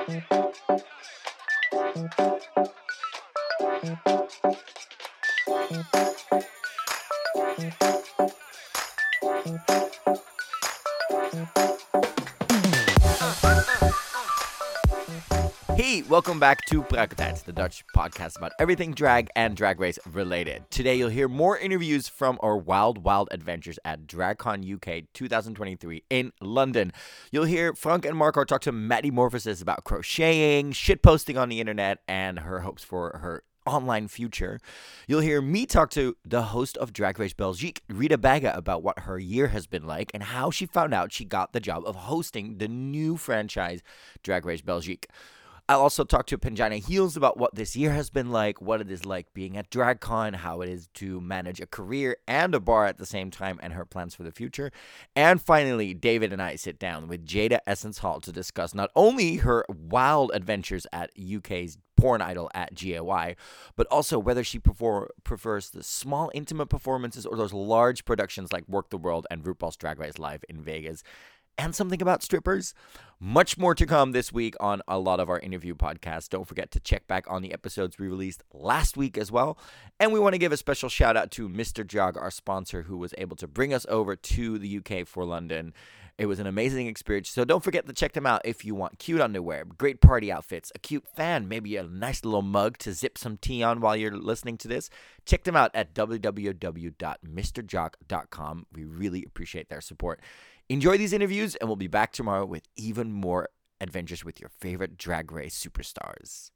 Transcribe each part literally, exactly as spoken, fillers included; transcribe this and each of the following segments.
Hey, welcome back to Praktijk, the Dutch podcast about everything drag and drag race related. Today you'll hear more interviews from our wild, wild adventures at DragCon U K twenty twenty-three in London. You'll hear Frank and Marco talk to Maddie Morphosis about crocheting, shitposting on the internet, and her hopes for her online future. You'll hear me talk to the host of Drag Race Belgique, Rita Baga, about what her year has been like and how she found out she got the job of hosting the new franchise, Drag Race Belgique. I'll also talk to Pangina Heels about what this year has been like, what it is like being at DragCon, how it is to manage a career and a bar at the same time, and her plans for the future. And finally, David and I sit down with Jada Essence Hall to discuss not only her wild adventures at U K's Porn Idol at G A Y, but also whether she prefer- prefers the small, intimate performances or those large productions like Work the World and RuPaul's Drag Race Live in Vegas. And something about strippers. Much more to come this week on a lot of our interview podcasts. Don't forget to check back on the episodes we released last week as well. And we want to give a special shout out to Mister Jog, our sponsor, who was able to bring us over to the U K for London. It was an amazing experience, so don't forget to check them out if you want cute underwear, great party outfits, a cute fan, maybe a nice little mug to zip some tea on while you're listening to this. Check them out at w w w dot mister jog dot com. We really appreciate their support. Enjoy these interviews, and we'll be back tomorrow with even more adventures with your favorite Drag Race superstars.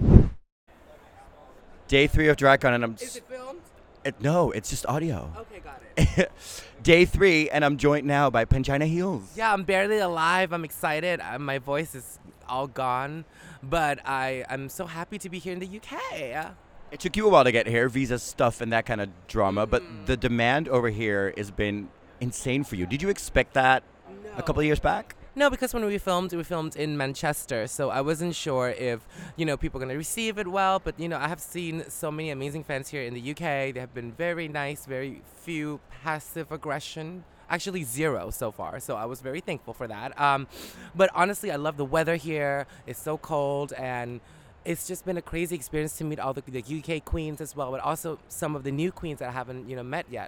Day three of DragCon, and I'm... Is it filmed? It, no, it's just audio. Okay, got it. Day three, and I'm joined now by Pangina Heels. Yeah, I'm barely alive. I'm excited. Uh, my voice is all gone, but I, I'm so happy to be here in the U K. It took you a while to get here, visa stuff and that kind of drama, Mm. but the demand over here has been insane for you. Did you expect that No. a couple of years back? No, because when we filmed, we filmed in Manchester, so I wasn't sure if, you know, people are going to receive it well, but, you know, I have seen so many amazing fans here in the U K. They have been very nice, very few passive aggression. Actually, zero so far, so I was very thankful for that. Um, but honestly, I love the weather here. It's so cold, and it's just been a crazy experience to meet all the, the U K queens as well, but also some of the new queens that I haven't, you know, met yet.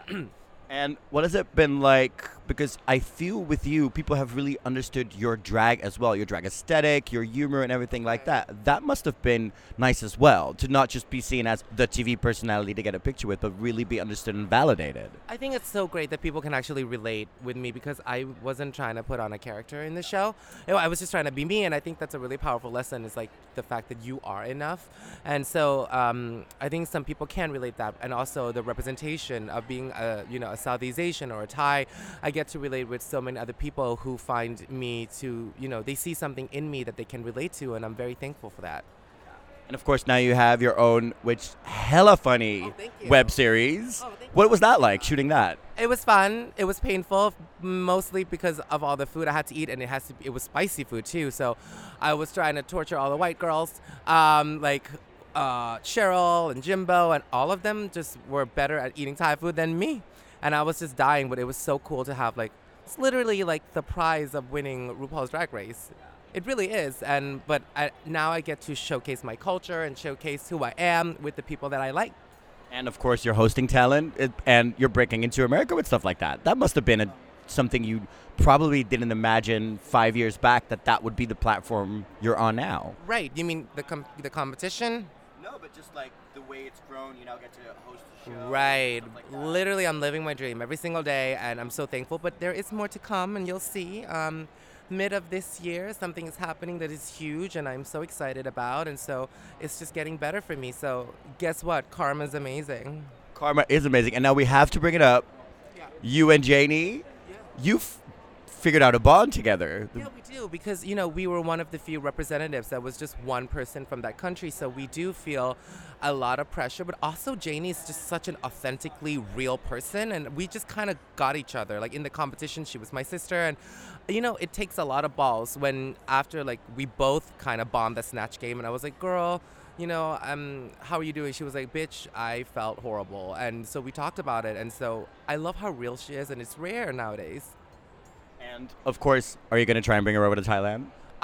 And what has it been like? Because I feel with you, people have really understood your drag as well, your drag aesthetic, your humor, and everything like that. That must have been nice as well, to not just be seen as the T V personality to get a picture with, but really be understood and validated. I think it's so great that people can actually relate with me because I wasn't trying to put on a character in the show. You know, I was just trying to be me, and I think that's a really powerful lesson. Is like the fact that you are enough, and so um, I think some people can relate that, and also the representation of being a you know a Southeast Asian or a Thai. I get to relate with so many other people who find me to you know they see something in me that they can relate to, and I'm very thankful for that. And of course, now you have your own, which hella funny Oh, thank you. web series. Oh, thank What you. was that like, shooting that? It was fun. It was painful, mostly because of all the food I had to eat, and it has to. Be, it was spicy food too, so I was trying to torture all the white girls, um, like uh, Cheryl and Jimbo, and all of them just were better at eating Thai food than me, and I was just dying. But it was so cool to have like it's literally like the prize of winning RuPaul's Drag Race. It really is, and but I, now I get to showcase my culture and showcase who I am with the people that I like. And of course, you're hosting talent, it- and you're breaking into America with stuff like that. That must have been a, something you probably didn't imagine five years back, that that would be the platform you're on now. Right? You mean the com- the competition? No, but just like the way it's grown, you now get to host a show. Right. Literally, I'm living my dream every single day, and I'm so thankful. But there is more to come, and you'll see. Um, mid of this year, something is happening that is huge, and I'm so excited about. And so it's just getting better for me. So guess what? Karma's amazing. Karma is amazing. And now we have to bring it up. Yeah. You and Janie, Yeah. you've figured out a bond together. Yeah, we do, because, you know, we were one of the few representatives that was just one person from that country, so we do feel a lot of pressure, but also Janie's just such an authentically real person, and we just kind of got each other. Like, in the competition, she was my sister, and, you know, it takes a lot of balls when after, like, we both kind of bombed the Snatch game, and I was like, girl, you know, um, how are you doing? She was like, bitch, I felt horrible, and so we talked about it, and so I love how real she is, and it's rare nowadays. And of course, are you going to try and bring her over to Thailand?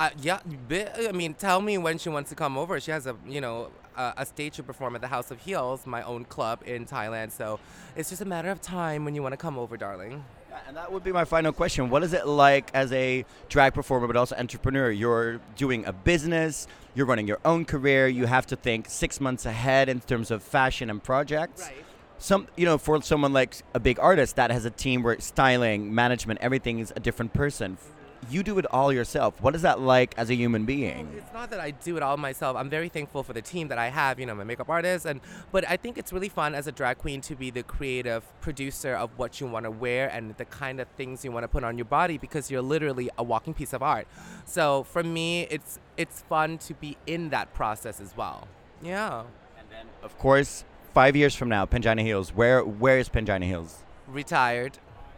Uh, yeah, bi- I mean, tell me when she wants to come over. She has a, you know, a, a stage to perform at the House of Heels, my own club in Thailand. So it's just a matter of time when you want to come over, darling. Yeah, and that would be my final question. What is it like as a drag performer, but also entrepreneur? You're doing a business, you're running your own career, you have to think six months ahead in terms of fashion and projects. Right. Some, you know, for someone like a big artist that has a team where styling, management, everything is a different person. You do it all yourself. What is that like as a human being? It's not that I do it all myself. I'm very thankful for the team that I have, you know, my makeup artist, and but I think it's really fun as a drag queen to be the creative producer of what you want to wear and the kind of things you want to put on your body, because you're literally a walking piece of art. So for me, it's it's fun to be in that process as well. Yeah. And then, of course, five years from now, Pangina Heels. Where where is Pangina Heels? Retired.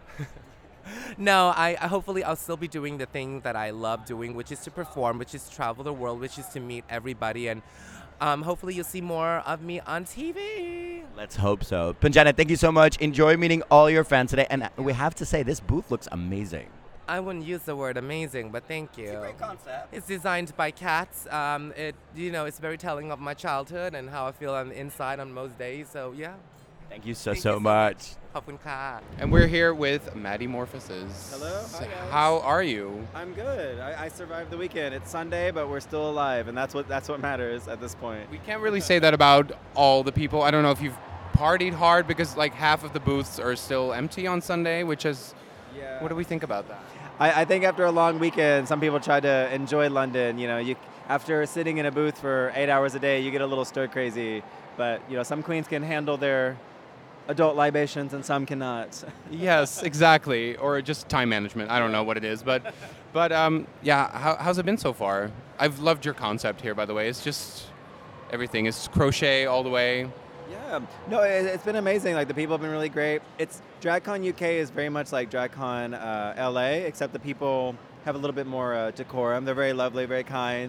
No, I I- hopefully I'll still be doing the thing that I love doing, which is to perform, which is travel the world, which is to meet everybody, and um, hopefully you'll see more of me on T V. Let's hope so. Pangina, thank you so much. Enjoy meeting all your fans today. And we have to say, this booth looks amazing. I wouldn't use the word amazing, but thank you. concept. It's designed by cats. Um, it you know it's very telling of my childhood and how I feel on the inside on most days. So yeah. Thank you so, Thank so you so much. ขอบคุณค่ะ And we're here with Maddie Morphosis. Hello. Hi, guys. How are you? I'm good. I, I survived the weekend. It's Sunday, but we're still alive, and that's what that's what matters at this point. We can't really say that about all the people. I don't know if you've partied hard because like half of the booths are still empty on Sunday, which is, Yeah. what do we think about that? I, I think after a long weekend, some people try to enjoy London. You know, you after sitting in a booth for eight hours a day, you get a little stir crazy. But you know, some queens can handle their adult libations, and some cannot. Yes, exactly. Or just time management. I don't know what it is, but but um, yeah. How, how's it been so far? I've loved your concept here, by the way. It's just everything. It's crochet all the way. Yeah, no, it, it's been amazing. Like the people have been really great. It's DragCon U K is very much like DragCon uh, L A, except the people have a little bit more uh, decorum. They're very lovely, very kind.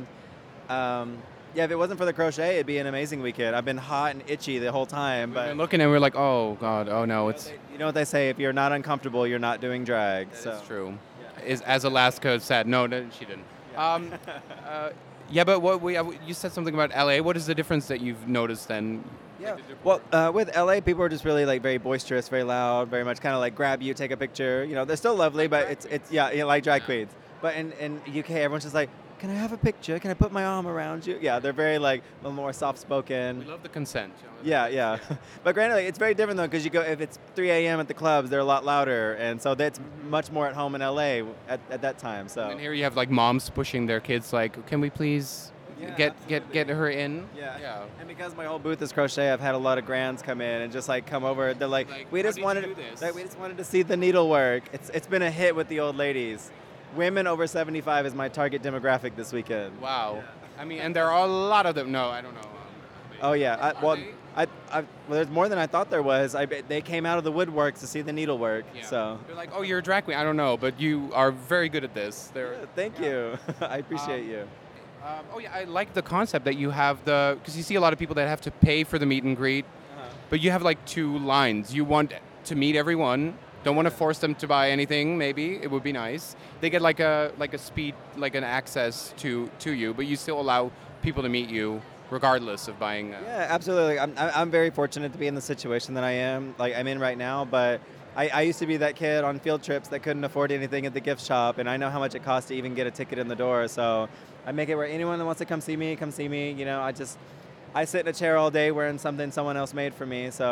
Um, yeah, if it wasn't for the crochet, it'd be an amazing weekend. I've been hot and itchy the whole time, We've but been looking and we're like, oh god, oh no, it's you know what they say: if you're not uncomfortable, you're not doing drag. that so is true. Is as Alaska said, no, no, she didn't. Um, uh, yeah, but what we uh, you said something about L A. What is the difference that you've noticed then? Yeah. Well, uh, with L A, people are just really like very boisterous, very loud, very much kind of like grab you, take a picture. You know, they're still lovely, but it's it's yeah, yeah like drag queens. But in in U K, everyone's just like, can I have a picture? Can I put my arm around you? Yeah, they're very like a little more soft We spoken. love the consent. you know, Yeah, yeah. But granted, like, it's very different though, because you go if it's three a.m. at the clubs, they're a lot louder, and so that's much more at home in L A at, at that time. So And here you have like moms pushing their kids, like, can we please Yeah, get get absolutely. get her in? Yeah. Yeah. And because my whole booth is crochet, I've had a lot of grands come in and just like come over. They're like, Like, we how just did you wanted, do this? like, we just wanted to see the needlework. It's it's been a hit with the old ladies. Women over seventy-five is my target demographic this weekend. Wow. I mean, and there are a lot of them. No, I don't know. Um, Oh yeah. I, Are well, they? I, I well, there's more than I thought there was. I bet they came out of the woodwork to see the needlework. Yeah. So. They're like, oh, you're a drag queen. I don't know, but you are very good at this. They're. Yeah, thank you. I appreciate Um, you. Um, oh yeah, I like the concept that you have the because you see a lot of people that have to pay for the meet and greet, Uh-huh. but you have like two lines. You want to meet everyone. Don't want to force them to buy anything. Maybe it would be nice. They get like a like a speed like an access to to you, but you still allow people to meet you regardless of buying. Uh, Yeah, absolutely. I'm, I'm I'm very fortunate to be in the situation that I am, like I'm in right now. But I, I used to be that kid on field trips that couldn't afford anything at the gift shop, and I know how much it costs to even get a ticket in the door. So I make it where anyone that wants to come see me, come see me. You know, I just I sit in a chair all day wearing something someone else made for me. So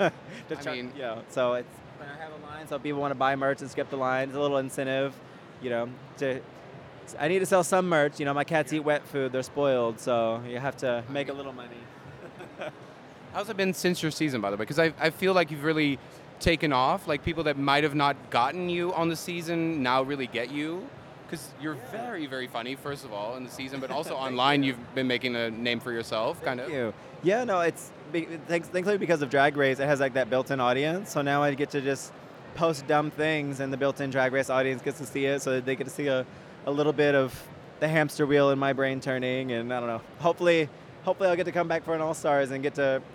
to I try- mean- you know, so it's when I have a line, so people want to buy merch and skip the line. It's a little incentive, you know, to. I need to sell some merch. You know, my cats eat wet food; they're spoiled, so you have to make a little money. How's it been since your season, by the way? Because I, I feel like you've really taken off. Like people that might have not gotten you on the season now really get you. Because you're very, very funny, first of all, in the season, but also online you've been making a name for yourself, kind of. Thank you. Yeah, no, it's be- thanks, thankfully because of Drag Race, it has like that built-in audience. So now I get to just post dumb things, and the built-in Drag Race audience gets to see it, so that they get to see a, a little bit of the hamster wheel in my brain turning. And I don't know. Hopefully, hopefully I'll get to come back for an All Stars and get to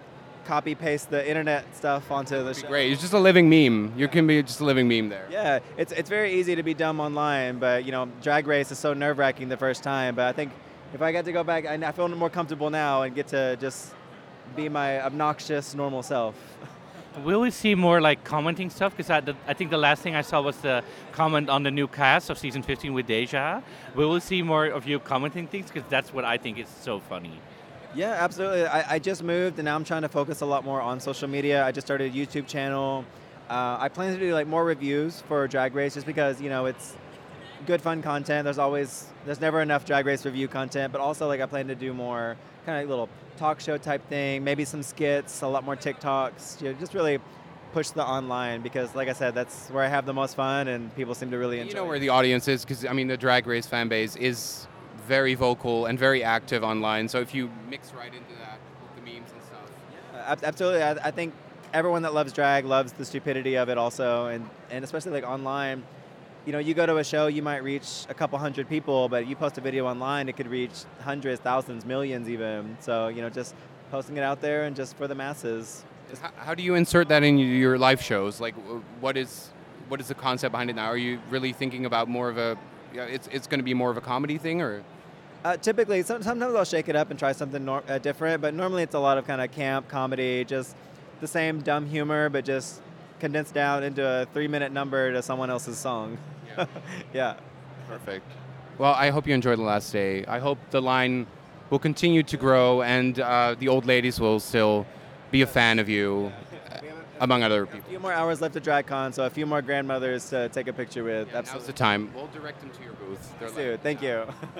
copy paste the internet stuff onto the show. Great. It's just a living meme. You can be just a living meme there. Yeah, it's it's very easy to be dumb online, but you know, Drag Race is so nerve-wracking the first time. But I think if I get to go back, I, I feel more comfortable now and get to just be my obnoxious, normal self. Will we see more like commenting stuff? Because I, the, I think the last thing I saw was the comment on the new cast of season fifteen with Deja. Will we see more of you commenting things? Because that's what I think is so funny. Yeah, absolutely. I, I just moved, and now I'm trying to focus a lot more on social media. I just started a YouTube channel. Uh, I plan to do like more reviews for Drag Race, just because you know it's good, fun content. There's always, there's never enough Drag Race review content, but also like I plan to do more kind of little talk show type thing, maybe some skits, a lot more TikToks. You know, just really push the online, because, like I said, that's where I have the most fun, and people seem to really enjoy. You know it. where the audience is, because I mean the Drag Race fan base is very vocal and very active online. So if you mix right into that with the memes and stuff. Yeah, absolutely. I, I think everyone that loves drag loves the stupidity of it also, and, and especially like online. You know, you go to a show, you might reach a couple hundred people, but you post a video online, it could reach hundreds, thousands, millions even. So, you know, just posting it out there and just for the masses. How, how do you insert that in your live shows? Like, what is what is the concept behind it now? Are you really thinking about more of a, yeah, it's it's going to be more of a comedy thing, or? Uh, typically, some, sometimes I'll shake it up and try something nor- uh, different, but normally it's a lot of kind of camp comedy, just the same dumb humor, but just condensed down into a three-minute number to someone else's song. Yeah. Yeah. Perfect. Well, I hope you enjoyed the last day. I hope the line will continue to grow, and uh, the old ladies will still be a fan of you, uh, among other A people. few more hours left at DragCon, so a few more grandmothers to take a picture with. Yeah, now's Absolutely. the time. We'll direct them to your booth. They're Dude, like- thank you.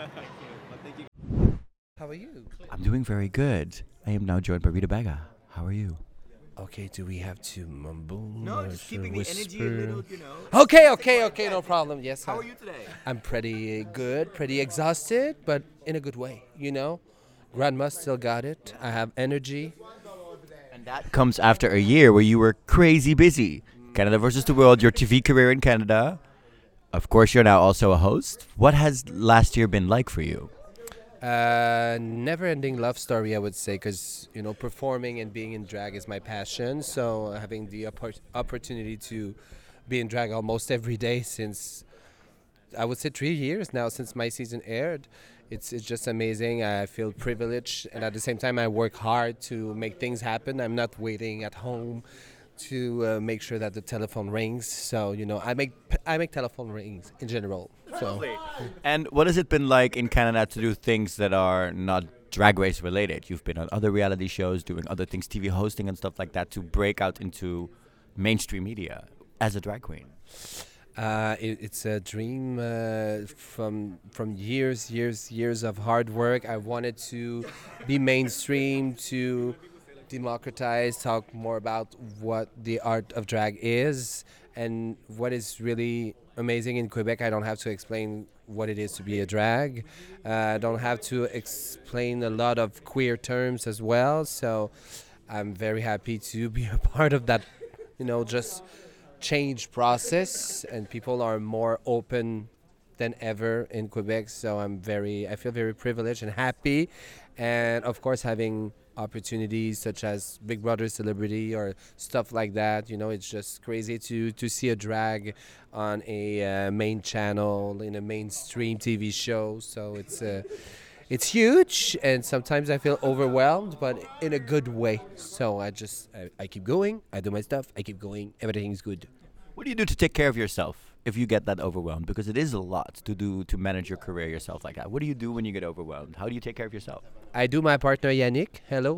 How are you? I'm doing very good. I am now joined by Rita Baga. How are you? Okay, do we have to mumble? No, or just to keeping the energy a whisper? little, you know. Okay, okay, okay, no problem. Yes. How I- are you today? I'm pretty good, pretty exhausted, but in a good way, you know? Grandma still got it. I have energy. And that comes after a year where you were crazy busy. Canada versus the World, your T V career in Canada. Of course, you're now also a host. What has last year been like for you? Uh, never-ending love story, I would say, because, you know, performing and being in drag is my passion. So having the oppor- opportunity to be in drag almost every day since, I would say, three years now since my season aired. It's it's just amazing. I feel privileged, and at the same time, I work hard to make things happen. I'm not waiting at home to uh, make sure that the telephone rings. So you know, I make I make telephone rings in general. So And what has it been like in Canada to do things that are not Drag Race related? You've been on other reality shows, doing other things, T V hosting and stuff like that, to break out into mainstream media as a drag queen. Uh, it, it's a dream uh, from from years, years, years of hard work. I wanted to be mainstream, to democratize, talk more about what the art of drag is, and what is really amazing in Quebec. I don't have to explain what it is to be a drag. Uh, I don't have to explain a lot of queer terms as well. So I'm very happy to be a part of that, you know, just change process, and people are more open than ever in Quebec. So I'm very, I feel very privileged and happy, and of course having opportunities such as Big Brother Celebrity or stuff like that. You know, it's just crazy to to see a drag on a uh, main channel in a mainstream T V show. So it's uh, it's huge, and sometimes I feel overwhelmed, but in a good way. So I just I, I keep going. I do my stuff. I keep going. Everything's good. What do you do to take care of yourself if you get that overwhelmed? Because it is a lot to do to manage your career yourself like that. What do you do when you get overwhelmed? How do you take care of yourself? I do my partner Yannick. Hello.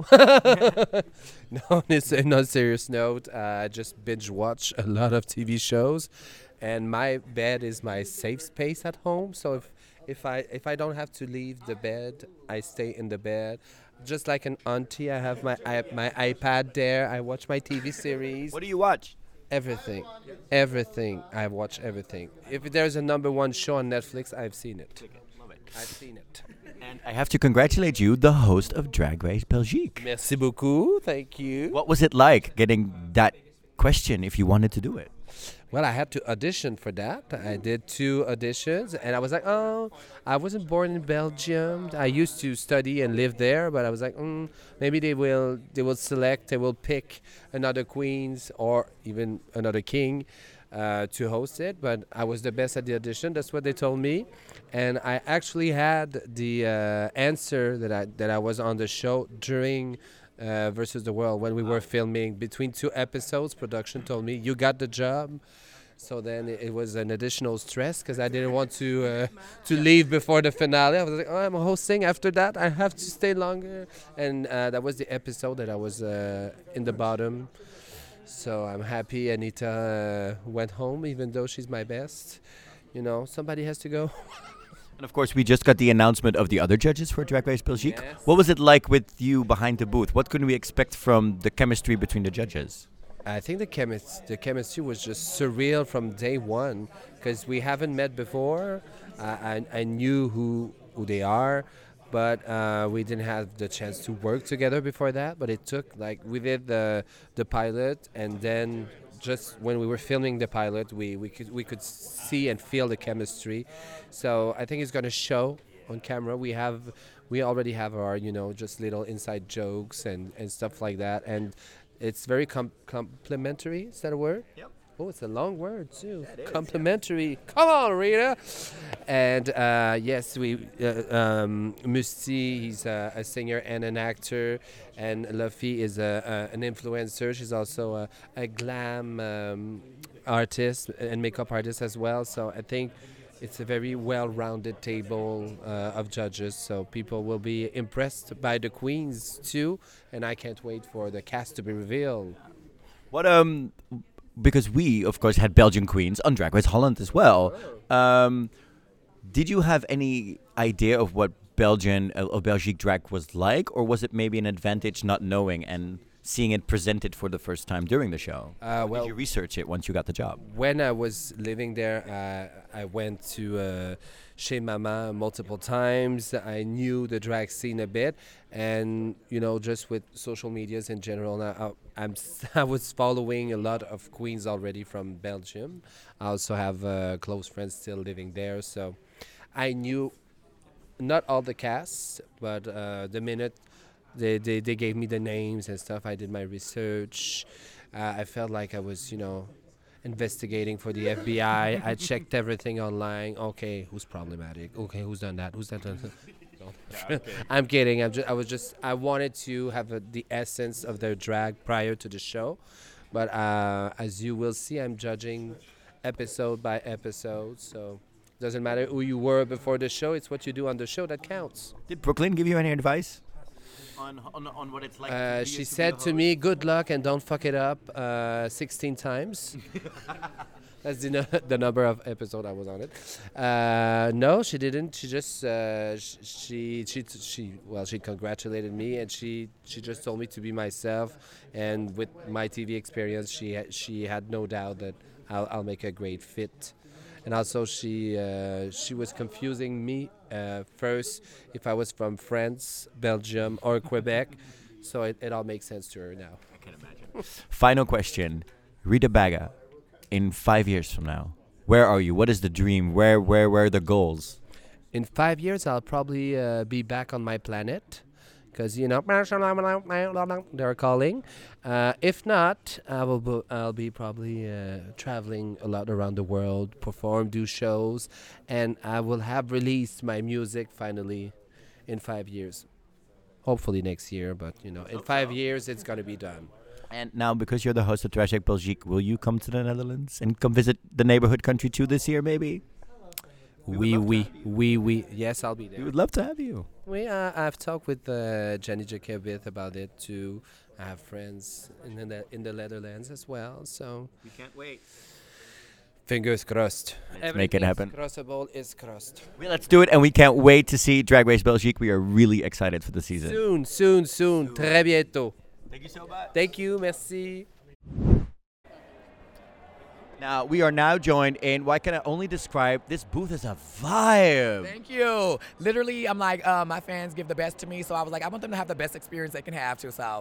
No, it's on a serious note. Uh, I just binge watch a lot of T V shows, and my bed is my safe space at home. So if if I if I don't have to leave the bed, I stay in the bed. Just like an auntie, I have my I, my iPad there. I watch my T V series. What do you watch? Everything, everything. I watch everything. If there's a number one show on Netflix, I've seen it. I've seen it. And I have to congratulate you, the host of Drag Race Belgique. Merci beaucoup. Thank you. What was it like getting that question if you wanted to do it? Well, I had to audition for that. I did two auditions, and I was like, oh, I wasn't born in Belgium. I used to study and live there, but I was like, mm, maybe they will they will select, they will pick another queens or even another king uh, to host it. But I was the best at the audition. That's what they told me, and I actually had the uh, answer that I that I was on the show during. Uh, versus the World when we were filming between two episodes. Production told me you got the job, so then it, it was an additional stress because I didn't want to uh, to leave before the finale. I was like, oh, I'm hosting. After that, I have to stay longer, and uh, that was the episode that I was uh, in the bottom. So I'm happy Anita uh, went home, even though she's my best. You know, somebody has to go. And of course, we just got the announcement of the other judges for Drag Race Belgique. Yes. What was it like with you behind the booth? What can we expect from the chemistry between the judges? I think the chemist, the chemistry was just surreal from day one because we haven't met before. Uh, I, I knew who who they are, but uh, we didn't have the chance to work together before that. But it took like we did the the pilot, and then just when we were filming the pilot, we we could we could see and feel the chemistry. So I think it's gonna show on camera. We have we already have our you know just little inside jokes and and stuff like that, and it's very com- complimentary. Is that a word? Yep. Oh, it's a long word too. Complimentary. Come on, Rita. And uh, yes, we uh, um, Musti. He's a, a singer and an actor, and Luffy is a, a, an influencer. She's also a, a glam um, artist and makeup artist as well. So I think it's a very well-rounded table uh, of judges. So people will be impressed by the queens too, and I can't wait for the cast to be revealed. What um, because we of course had Belgian queens on Drag Race Holland as well. Um, did you have any idea of what Belgian uh, or Belgique drag was like, or was it maybe an advantage not knowing and seeing it presented for the first time during the show? Uh, Or well, did you research it once you got the job? when I was living there, uh, I went to uh, Chez Mama multiple times. I knew the drag scene a bit, and you know, just with social medias in general, now I, I'm s- I was following a lot of queens already from Belgium. I also have uh, close friends still living there, so I knew not all the casts, but uh, the minute they, they they gave me the names and stuff, I did my research. Uh, I felt like I was, you know, investigating for the F B I. I checked everything online. Okay, who's problematic? Okay, who's done that? Who's that done? No. I'm kidding. I'm just, I was just. I wanted to have a, the essence of their drag prior to the show, but uh, as you will see, I'm judging episode by episode. So doesn't matter who you were before the show. It's what you do on the show that counts. Did Brooklyn give you any advice on on, on what it's like? Uh, she said to me, "Good luck and don't fuck it up." Uh, sixteen times. That's the, no- the number of episode I was on it. Uh, no, she didn't. She just uh, sh- she she t- she well she congratulated me, and she she just told me to be myself. And with my T V experience, she ha- she had no doubt that I'll I'll make a great fit. And also she uh, she was confusing me uh, first if I was from France, Belgium, or Quebec. So it, it all makes sense to her now. I can imagine. Final question, Rita Baga. In five years from now, where are you? What is the dream? Where, where, where are the goals? In five years, I'll probably uh, be back on my planet, because you know they're calling. Uh, if not, I will. Bo- I'll be probably uh, traveling a lot around the world, perform, do shows, and I will have released my music finally in five years. Hopefully next year, but you know, in five years it's gonna be done. And now, because you're the host of Drag Race Belgique, will you come to the Netherlands and come visit the neighborhood country too this year, maybe? We we we we yes, I'll be there. We would love to have you. We uh, I've talked with uh, Jenny Jacobit about it too. I have friends in the Ne- in the Netherlands as well, so We can't wait. fingers crossed. Let's make it happen. Crossable is crossed. Well, let's do it, and we can't wait to see Drag Race Belgique. We are really excited for the season. Soon, soon, soon. Très bientôt. Thank you so much. Thank you, merci. Now, we are now joined in what can I only describe this booth as a vibe. Thank you. Literally, I'm like, uh, my fans give the best to me, so I was like, I want them to have the best experience they can have too. So,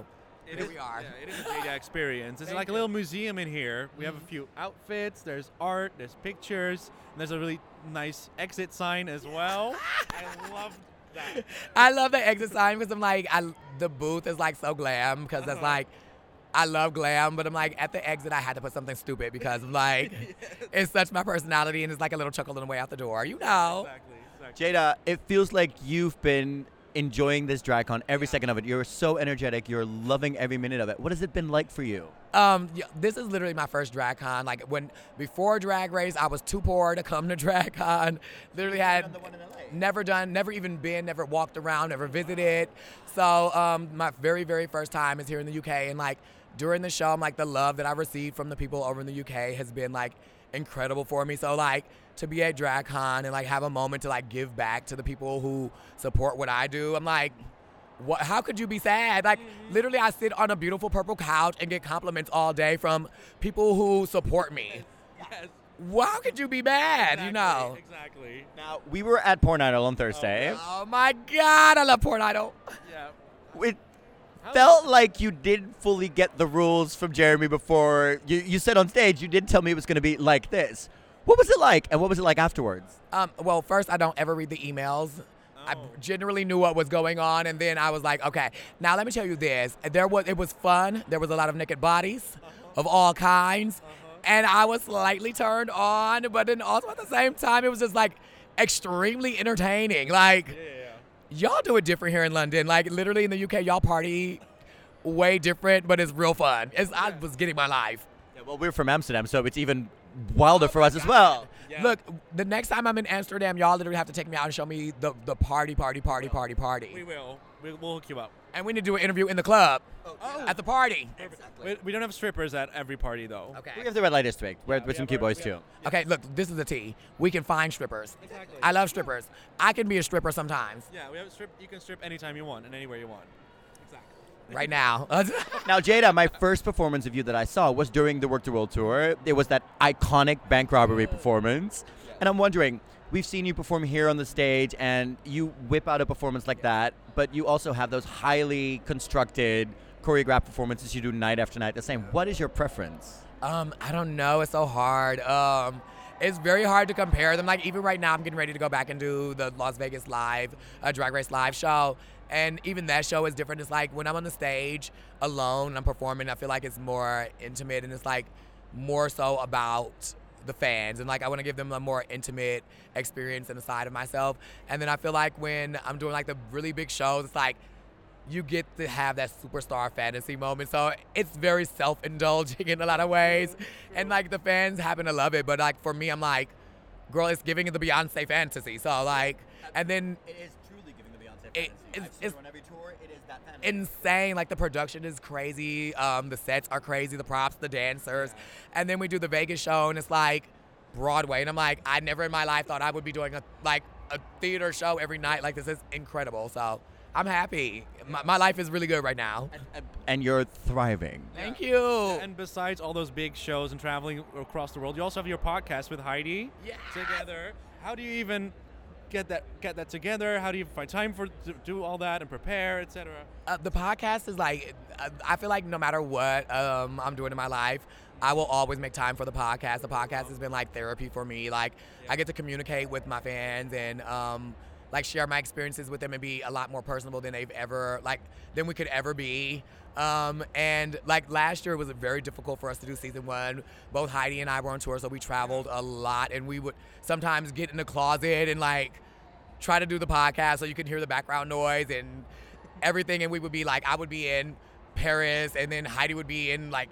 It Here is- we are. Yeah, it is a Jada experience. It's Thank like a you. little museum in here. We have a few outfits. There's art. There's pictures. And there's a really nice exit sign as well. I love that. I love the exit sign because I'm like, I, the booth is like so glam because that's Uh-huh. like, I love glam, but I'm like, at the exit, I had to put something stupid because I'm like, it's such my personality and it's like a little chuckle on the way out the door, you know? Exactly. Exactly. Jada, it feels like you've been enjoying this DragCon every second of it. You're so energetic. You're loving every minute of it. What has it been like for you? Um, yeah, this is literally my first drag con. Like when before Drag Race, I was too poor to come to drag con. Literally had never done, never even been, never walked around, never visited. So um, my very very first time is here in the U K, and like during the show, I'm like the love that I received from the people over in the U K has been like incredible for me. So like to be at drag con and like have a moment to like give back to the people who support what I do, I'm like, what, how could you be sad? Like, literally, I sit on a beautiful purple couch and get compliments all day from people who support me. Yes. Well, how could you be mad, you know? Exactly. Now, we were at Porn Idol on Thursday. Oh my God, I love Porn Idol. Yeah. It felt like you didn't fully get the rules from Jeremy before. You, you said on stage, you did tell me it was going to be like this. What was it like, and what was it like afterwards? Um, well, first, I don't ever read the emails. I Oh. generally knew what was going on, and then I was like, okay, now let me tell you this. There was it was fun. There was a lot of naked bodies of all kinds, and I was slightly turned on, but then also at the same time, it was just like extremely entertaining. Like, Yeah, yeah, y'all do it different here in London. Like, literally in the U K, y'all party way different, but it's real fun. It's, I was getting my life. Yeah, well, we're from Amsterdam, so it's even wilder for us as well. Yeah. Look, the next time I'm in Amsterdam, y'all literally have to take me out and show me the, the party, party, party, party, party. We will. We, we'll hook you up. And we need to do an interview in the club Oh. at the party. We, we don't have strippers at every party, though. Okay. We have the red light district, where, Yeah, with we some have cute our- boys, we too. have- Okay, look, this is the tea. We can find strippers. Exactly. I love strippers. I can be a stripper sometimes. Yeah, we have strip. You can strip anytime you want and anywhere you want. Exactly. Right now. Now, Jada, my first performance of you that I saw was during the Work the World tour. It was that iconic bank robbery performance. And I'm wondering, we've seen you perform here on the stage, and you whip out a performance like that, but you also have those highly constructed, choreographed performances you do night after night the same. What is your preference? Um, I don't know. It's so hard. Um, it's very hard to compare them. Like even right now, I'm getting ready to go back and do the Las Vegas live, uh, Drag Race live show, and even that show is different. It's like when I'm on the stage alone, and I'm performing. I feel like it's more intimate, and it's like more so about the fans, and like I want to give them a more intimate experience in the side of myself. And then I feel like when I'm doing like the really big shows, it's like you get to have that superstar fantasy moment. So it's very self-indulging in a lot of ways. And like the fans happen to love it. But like for me, I'm like, girl, it's giving it the Beyonce fantasy. So like, and then It is truly giving the Beyonce It- fantasy. I've it's- seen her it's- on every tour. It is that fantasy. insane. Like the production is crazy. Um, the sets are crazy. The props, the dancers. And then we do the Vegas show and it's like Broadway. And I'm like, I never in my life thought I would be doing a like a theater show every night. Like this is incredible. So I'm happy. My, my life is really good right now. And you're thriving. Thank you. And besides all those big shows and traveling across the world, you also have your podcast with Heidi Yes. together. How do you even get that get that together? How do you find time for to do all that and prepare, et cetera? Uh, the podcast is like, uh, I feel like no matter what um, I'm doing in my life, I will always make time for the podcast. The podcast has been like therapy for me. Like I get to communicate with my fans and um, like share my experiences with them and be a lot more personable than they've ever like than we could ever be. Um, and like last year it was very difficult for us to do season one. Both Heidi and I were on tour, so we traveled a lot, and we would sometimes get in the closet and like try to do the podcast so you can hear the background noise and everything. And we would be like, I would be in Paris, and then Heidi would be in like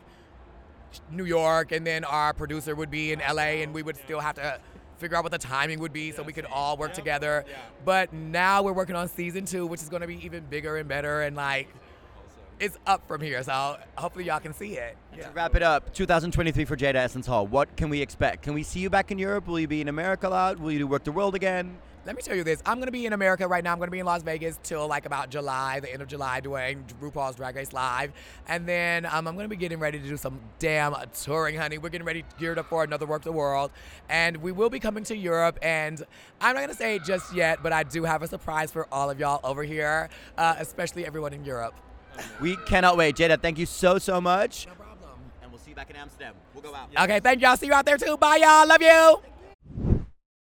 New York, and then our producer would be in L A, and we would still have to figure out what the timing would be so we could all work together. But now we're working on season two, which is going to be even bigger and better, and like it's up from here. So hopefully y'all can see it. To wrap it up, two thousand twenty-three for Jada Essence Hall. What can we expect? Can we see you back in Europe? Will you be in America a lot? Will you do Work the World again? Let me tell you this. I'm going to be in America right now. I'm going to be in Las Vegas till like about July, the end of July, doing RuPaul's Drag Race Live. And then um, I'm going to be getting ready to do some damn touring, honey. We're getting ready, geared up for another Work the World. And we will be coming to Europe. And I'm not going to say it just yet, but I do have a surprise for all of y'all over here, uh, especially everyone in Europe. We cannot wait. Jada, thank you so, so much. No problem. And we'll see you back in Amsterdam. We'll go out. Okay, thank y'all. See you out there too. Bye, y'all. Love you.